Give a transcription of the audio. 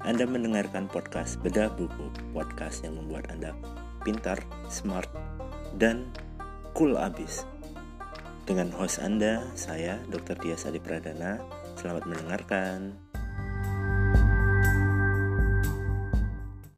Anda mendengarkan podcast Bedah Buku, podcast yang membuat Anda pintar, smart, dan cool abis. Dengan host Anda, saya Dr. Dias Adi Pradana. Selamat mendengarkan.